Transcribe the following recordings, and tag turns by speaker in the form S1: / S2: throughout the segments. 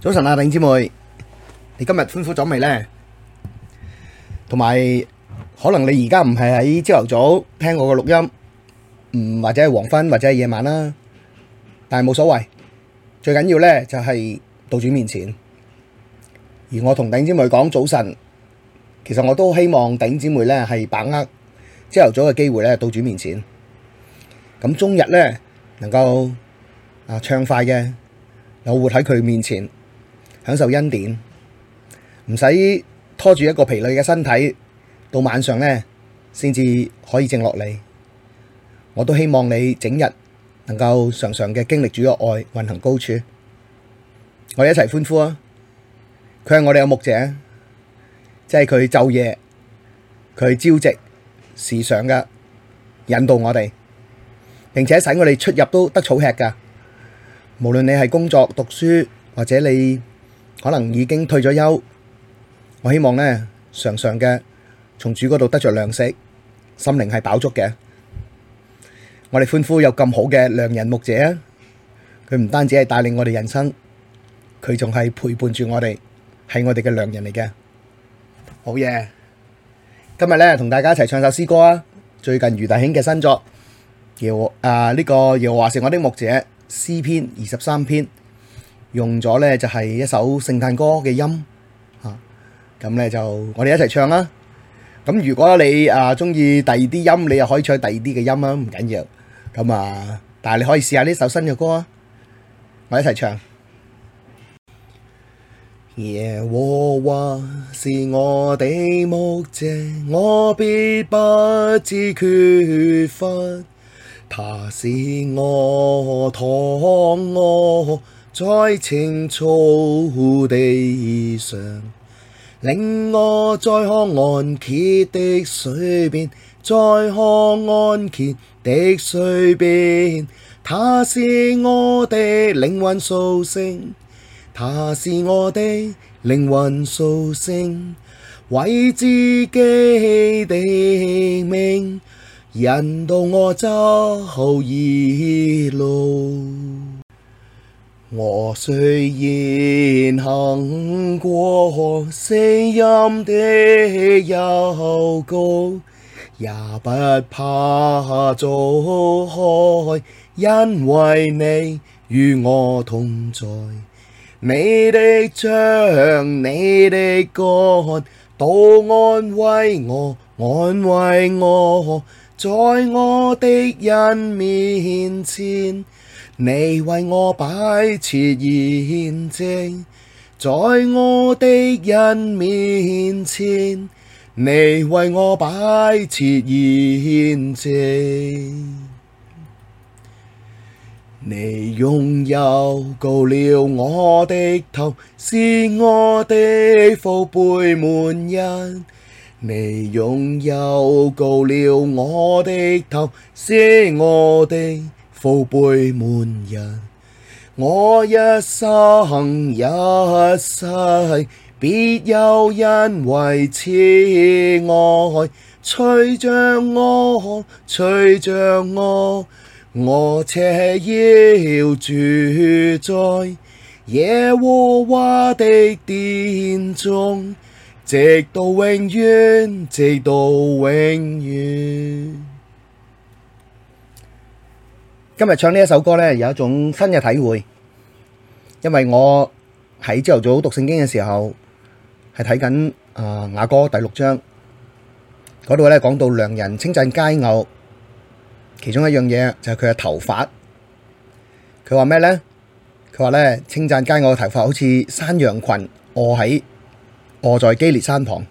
S1: 早晨啊，弟兄姊妹，你今日歡呼咗未呢？同埋，可能你而家唔係喺朝頭早聽我個錄音，或者係黃昏或者係夜晚啦，但係冇所謂。最緊要呢就係到主面前，而我同弟兄姊妹講早晨，其實我都希望弟兄姊妹呢係把握朝頭早嘅機會呢到主面前，咁終日呢能夠暢快嘅有活喺佢面前。享受恩典，唔使拖住一個疲累嘅身體，到晚上呢先至可以靜落嚟。我都希望你整日能夠常常嘅經歷主嘅愛，運行高處。我哋一齊歡呼啊！佢係我哋嘅牧者，即係佢晝夜，佢朝夕時常嘅引導我哋，並且使我哋出入都得草吃噶。無論你係工作、讀書，或者你可能已經退咗休，我希望呢常常嘅從主嗰度得着糧食，心靈係飽足嘅。我哋歡呼有咁好嘅良人牧者啊！佢唔單止係帶領我哋人生，佢仲係陪伴住我哋，係我哋嘅良人嚟嘅。好嘢！今日呢同大家一齊唱首詩歌啊！最近余大兄嘅新作，呢個耶和華是我的牧者，詩篇23篇。用咗呢就係一首聖誕歌嘅音，咁呢就我哋一齊唱啦。咁如果你中意第二啲音，你又可以唱第二啲嘅音啊，唔緊要。咁但係你可以試下呢首新嘅歌啊，我一齊唱。耶和華是我的牧者，我必不致缺乏，他使我躺臥在青草地上，領我在可安歇的水邊，在可安歇的水邊，他使我的靈魂蘇醒，他使我的靈魂蘇醒，為自己的名引導我走義路。我雖然行過死蔭的幽谷，也不怕遭害，因為你與我同在。你的杖、你的竿都安慰我，安慰我，在我敵人面前。你為我擺設筵席，在我敵人面前，你為我擺設筵席。你用油膏了我的頭，使我的福杯滿溢。你用油膏了我的頭，使我的福杯滿溢，我一生一世必有恩惠慈愛隨着我，隨着我，我且要住在耶和華的殿中，直到永遠，直到永遠。今日唱呢一首歌呢，有一種新嘅體會，因為我喺朝頭早讀聖經嘅時候，係睇緊雅歌第6章嗰度呢，講到良人稱讚佳偶，其中一樣嘢就係佢嘅頭髮。佢話咩呢？佢話呢，稱讚佳偶嘅頭髮好似山羊群臥在基列山旁。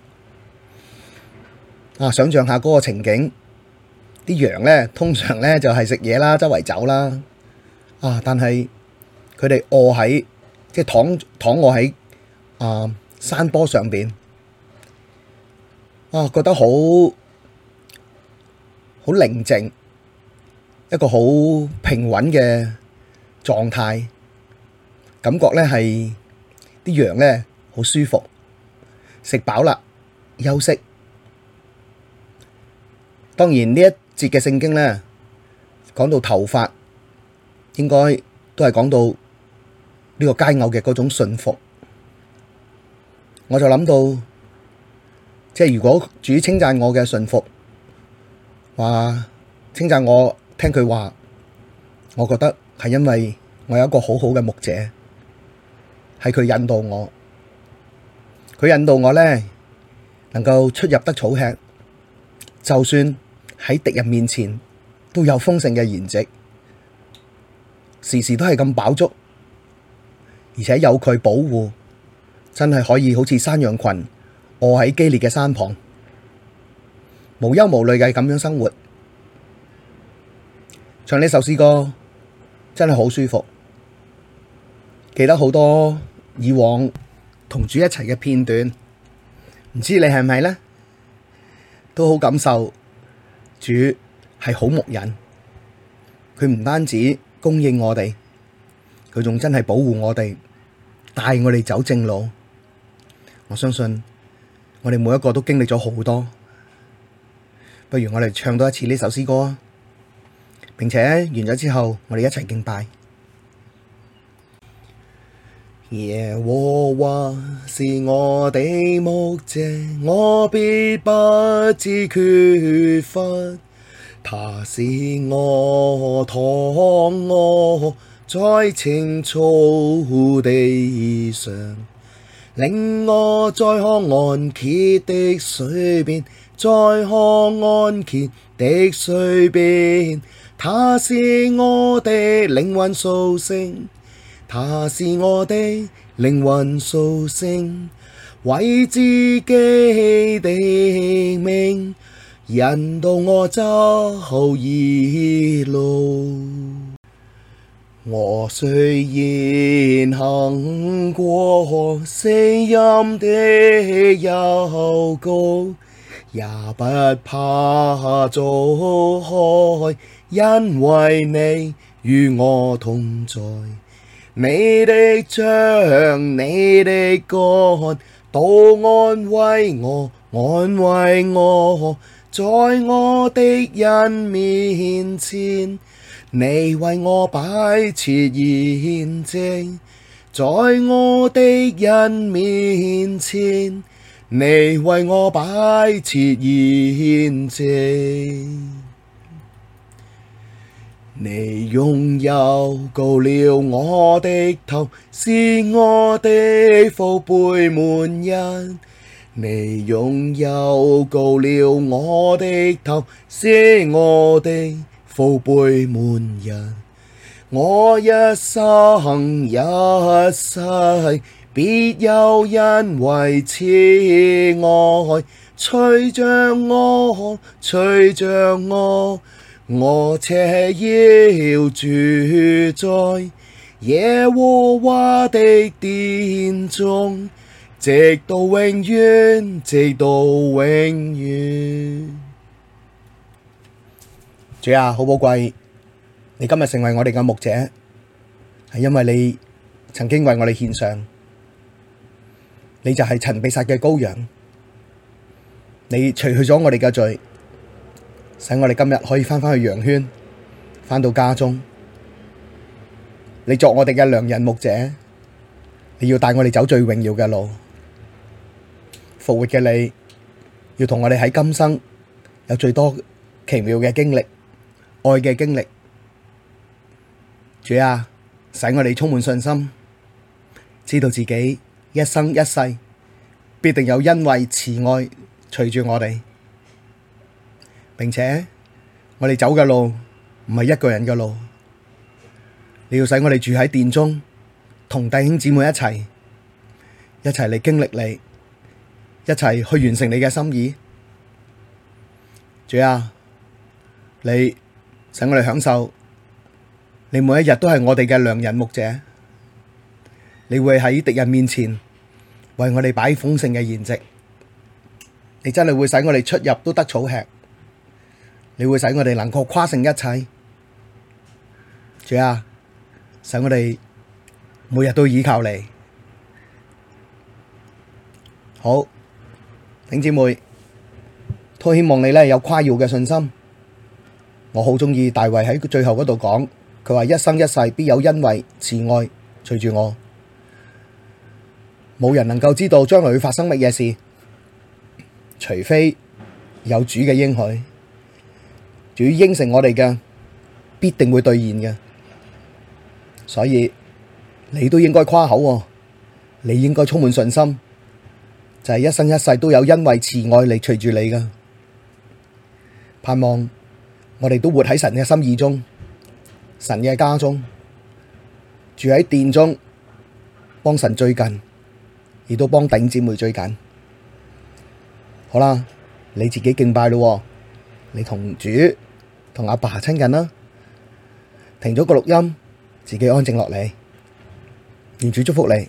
S1: 想象下嗰個情景。啲羊呢，通常呢就係食嘢啦，周圍走啦。但係佢哋即係躺臥喺山坡上邊。覺得好寧靜，一個好平穩嘅狀態，感覺呢係啲羊呢好舒服，食飽啦，休息。當然呢一節嘅聖經呢，講到頭髮，應該都係講到呢個佳偶嘅嗰種信服。我就諗到，即係如果主稱讚我嘅信服，話稱讚我聽佢話，我覺得係因為我有一個好好嘅牧者，係佢引導我，佢引導我咧能夠出入得草吃，就算喺敵人面前都有豐盛嘅筵席，時時都係咁飽足，而且有佢保護，真係可以好似山羊群臥喺基列嘅山旁，無憂無慮嘅咁樣生活。唱呢首詩歌真係好舒服，記得好多以往同主一齊嘅片段，唔知你係咪呢？都好感受主係好牧人，佢唔單止供應我哋，佢仲真係保護我哋，帶我哋走正路。我相信我哋每一個都經歷咗好多，不如我哋唱多一次呢首詩歌啊！並且完咗之後，我哋一齊敬拜。耶和華是我的牧者，我必不致缺乏。他使我躺臥在青草地上，領我在可安歇的水邊，在可安歇的水邊。他使我的靈魂蘇醒，他使我的靈魂蘇醒，為自己的名引導我走義路。我雖然行過死蔭的幽谷，也不怕遭害，因為你與我同在。你的杖，你的竿，都安慰我，安慰我。在我敵人面前，你為我擺設筵席，在我敵人面前，你為我擺設筵席。你用油膏了我的頭，使我的福杯滿溢。你用油膏了我的頭，使我的福杯滿溢。我一生一世，必有恩惠慈愛隨着我，隨着我。我且要住在耶和華的殿中，直到永遠，直到永遠。主啊，好寶貴，你今日成為我哋嘅牧者，係因為你曾經為我哋獻上，你就係曾被殺嘅羔羊，你除去咗我哋嘅罪，使我哋今日可以返去羊圈，返到家中。你作我哋嘅良人牧者，你要帶我哋走最榮耀嘅路。復活嘅你，要同我哋喺今生有最多奇妙嘅經歷，愛嘅經歷。主啊，使我哋充滿信心，知道自己一生一世必定有恩惠慈愛隨住我哋，並且我哋走嘅路唔係一個人嘅路，你要使我哋住喺殿中，同弟兄姊妹一齊嚟經歷你，一齊去完成你嘅心意。主啊，你使我哋享受，你每一日都係我哋嘅良人牧者，你會喺敵人面前為我哋擺豐盛嘅筵席，你真係會使我哋出入都得草吃，你會使我哋能夠誇勝一切。主啊，使我哋每日都倚靠你。好，弟兄姊妹，都希望你有誇耀嘅信心。我好鍾意大衛喺最後嗰度講，佢話一生一世必有恩惠慈愛隨住我。 冇人能夠知道將來會發生乜嘢事，除非有主嘅應許。主應承我哋嘅，必定會兌現嘅。所以你都應該誇口喎，你應該充滿信心，就係一生一世都有恩惠慈愛嚟隨住你噶。盼望我哋都活喺神嘅心意中，神嘅家中，住喺殿中，幫神最近，亦都幫弟兄姊妹最近。好啦，你自己敬拜咯，你同主同阿爸親近啦。停咗個錄音，自己安靜落嚟，願主祝福你。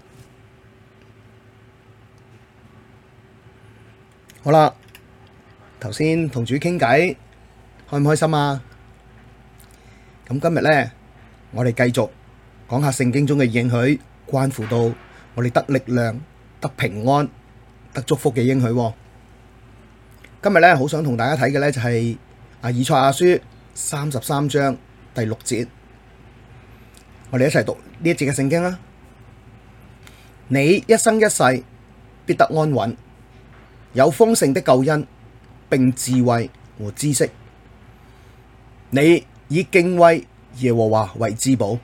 S1: 好啦，頭先同主傾偈，開唔開心啊？咁今日咧，我哋繼續講下聖經中嘅應許，關乎到我哋得力量、得平安、得祝福嘅應許。今日咧，好想同大家睇嘅咧就係以賽亞書33章第6節，我哋一齊讀呢一節嘅聖經啦。你一生一世必得安穩，有豐盛的救恩，並智慧和知識。你以敬畏耶和華為至寶。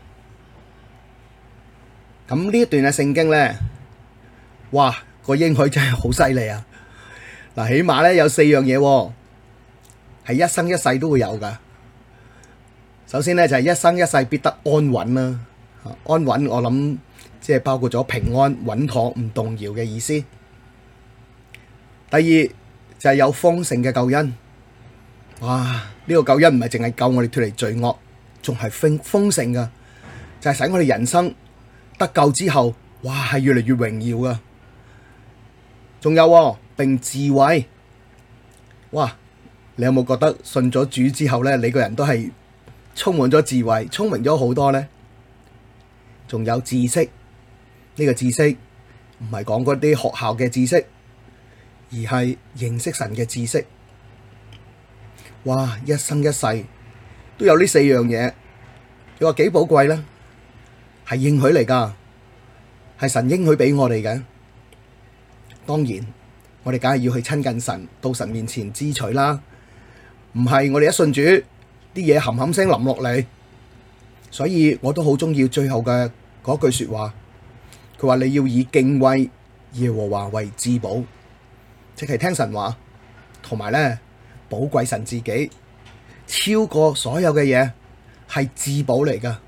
S1: 咁呢一段嘅聖經咧，哇，個應許真係好犀利啊！嗱，起碼咧有4樣嘢，係一生一世都會有噶。首先咧就係一生一世必得安穩啦，安穩我諗即係包括咗平安、穩妥、唔動搖嘅意思。第二就係有豐盛嘅救恩，哇！呢個救恩唔係淨係救我哋脫離罪惡，仲係豐盛噶，就係使我哋人生得救之後，哇，係越嚟越榮耀噶。仲有並智慧，哇！你有冇覺得信咗主之後咧，你個人都係充滿咗智慧，聰明咗好多呢？仲有知識，呢個知識唔係講嗰啲學校嘅知識，而係認識神嘅知識。哇！一生一世都有呢4樣嘢，你話幾寶貴呢？係應許嚟噶，係神應許俾我哋嘅。當然，我哋梗係要去親近神，到神面前支取啦。唔係我哋一信主，啲嘢冚冚聲淋落嚟。所以我都好鍾意最後嘅嗰句說話，佢話你要以敬畏耶和華為至寶，即係聽神話，同埋咧寶貴神自己，超過所有嘅嘢，係至寶嚟噶。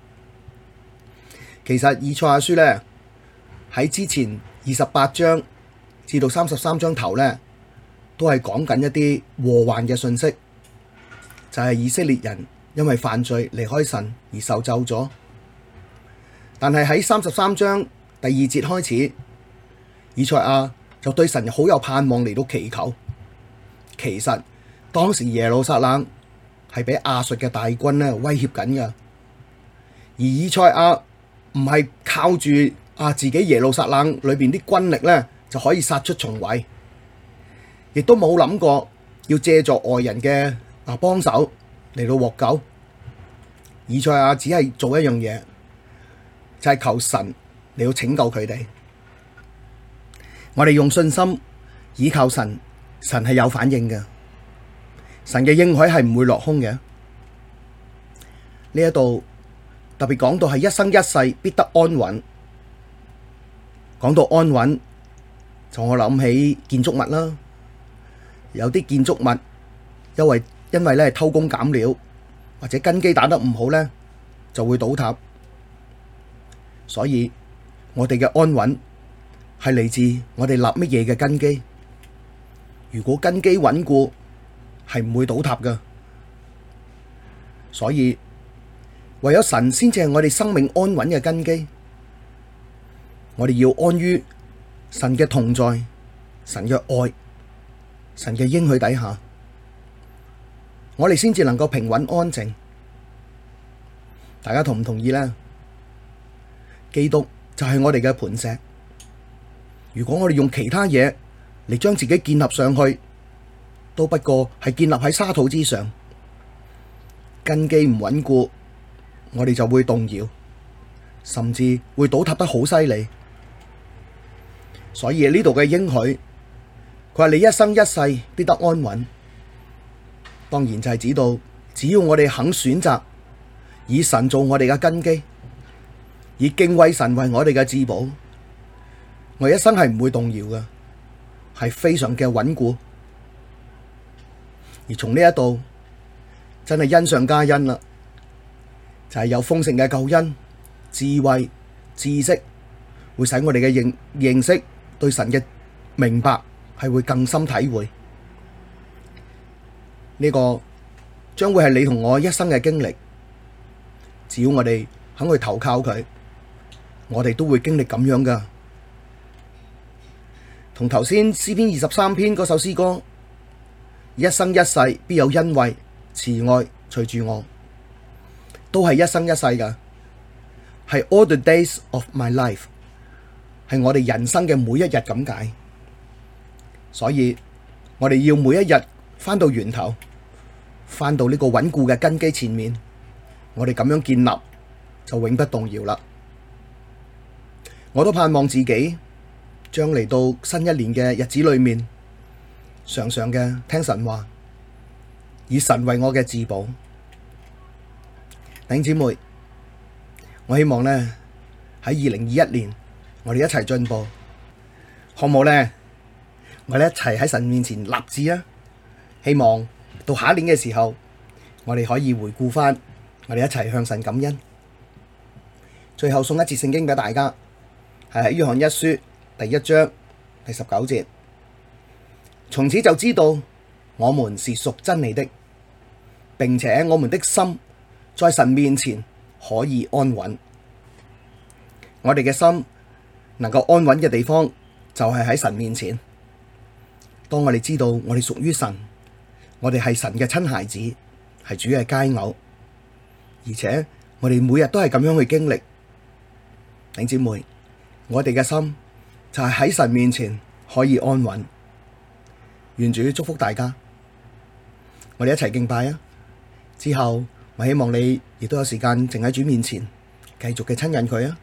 S1: 其實以賽亞書咧喺之前28章至到33章頭咧，都係講緊一啲禍患嘅信息，就係以色列人因為犯罪離開神而受咒咗。但係喺33章第2節開始，以賽亞就對神好有盼望嚟到祈求。其實當時耶路撒冷係俾亞述嘅大軍咧威脅緊噶，而以賽亞唔係靠住自己耶路撒冷裏邊啲軍力咧就可以殺出重圍，亦都冇諗過要借助外人嘅幫手嚟到獲救。以賽亞只係做一樣嘢，就係求神嚟到拯救佢哋。我哋用信心倚靠神，神係有反應嘅，神嘅應許係唔會落空嘅。呢一度特別講到係一生一世必得安穩。講到安穩，就我諗起建築物啦。有啲建築物因為咧偷工減料，或者根基打得唔好咧，就會倒塌。所以我哋嘅安穩係嚟自我哋立乜嘢嘅根基。如果根基穩固，係唔會倒塌噶。所以唯有神先至係我哋生命安穩嘅根基。我哋要安於神嘅同在、神嘅愛、神嘅應許底下，我哋先至能夠平穩安靜。大家同唔同意呢？基督就係我哋嘅磐石。如果我哋用其他嘢嚟將自己建立上去，都不過係建立喺沙土之上，根基唔穩固，我哋就會動搖，甚至會倒塌得好犀利。 所以呢度嘅應許，佢話你一生一世必得安穩。當然就係指到，只要我哋肯選擇以神做我哋嘅根基，以敬畏神為我哋嘅至寶，我一生係唔會動搖嘅，係非常嘅穩固。而從呢一度真係恩上加恩啦，就係有豐盛嘅救恩、智慧、知識，會使我哋嘅認識對神嘅明白係會更深體會。呢個將會係你同我一生嘅經歷，只要我哋肯去投靠佢，我哋都會經歷咁樣噶。同頭先詩篇23篇嗰首詩歌，一生一世必有恩惠慈愛隨住我，都係一生一世噶，係 all the days of my life， 係我哋人生嘅每一日咁解。所以我哋要每一日返到源頭，返到呢個穩固嘅根基前面，我哋咁樣建立就永不動搖啦。我都盼望自己將嚟到新一年嘅日子裏面，常常嘅聽神話，以神為我嘅至寶。弟兄姊妹，我希望呢喺2021年，我哋一齊進步，好唔好呢？我哋一齊喺神面前立志啊！希望到下一年嘅時候，我哋可以回顧返，我哋一齊向神感恩。最後送一節聖經俾大家，係喺約翰一書第1章第19節。從此就知道我們是屬真理的，並且我們的心在神面前可以安穩。我哋嘅心能夠安穩嘅地方，就係喺神面前。當我哋知道我哋屬於神，我哋係神嘅親孩子，係主嘅佳偶，而且我哋每日都係咁樣去經歷。弟兄姊妹，我哋嘅心就係喺神面前可以安穩。願主祝福大家，我哋一齊敬拜啊！之後我希望你亦都有時間靜喺主面前，繼續嘅親近佢啊！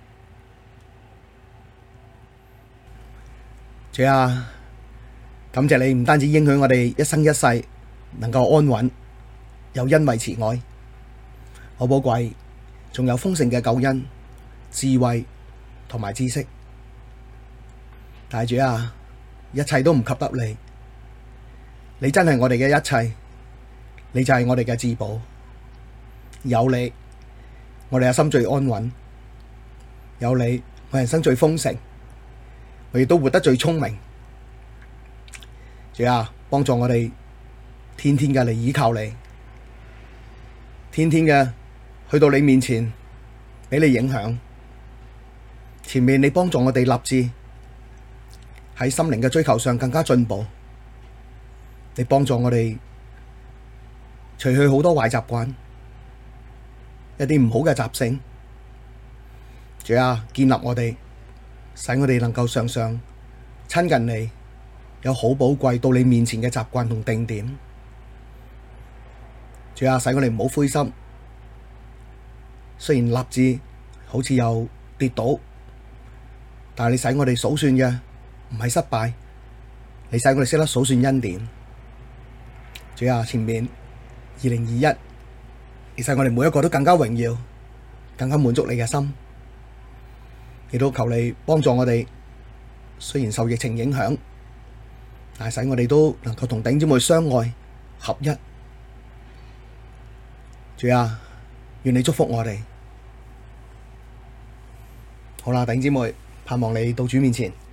S1: 主啊，感謝你唔單止應許我哋一生一世能夠安穩，有恩惠慈愛，好寶貴，仲有豐盛嘅救恩、智慧同埋知識。但係主啊，一切都唔及得你，你真係我哋嘅一切，你就係我哋嘅至寶。有你，我哋嘅心最安穩；有你，我人生最豐盛，我亦都活得最聰明。主啊，幫助我哋天天嘅嚟依靠你，天天嘅去到你面前，俾你影響。前面你幫助我哋立志喺心靈嘅追求上更加進步，你幫助我哋除去好多壞習慣，一啲唔好嘅習性。主啊，建立我哋，使我哋能夠常常親近你，有好寶貴到你面前嘅習慣同定點。主啊，使我哋唔好灰心，雖然立志好似又跌倒，但係你使我哋數算嘅唔係失敗，你使我哋識得數算恩典。主啊，前面2021，你使我哋每一個都更加榮耀，更加滿足你嘅心。亦都求你幫助我哋，雖然受疫情影響，但係使我哋都能夠同弟兄姊妹相愛合一。主啊，願你祝福我哋。好啦，弟兄姊妹，盼望你到主面前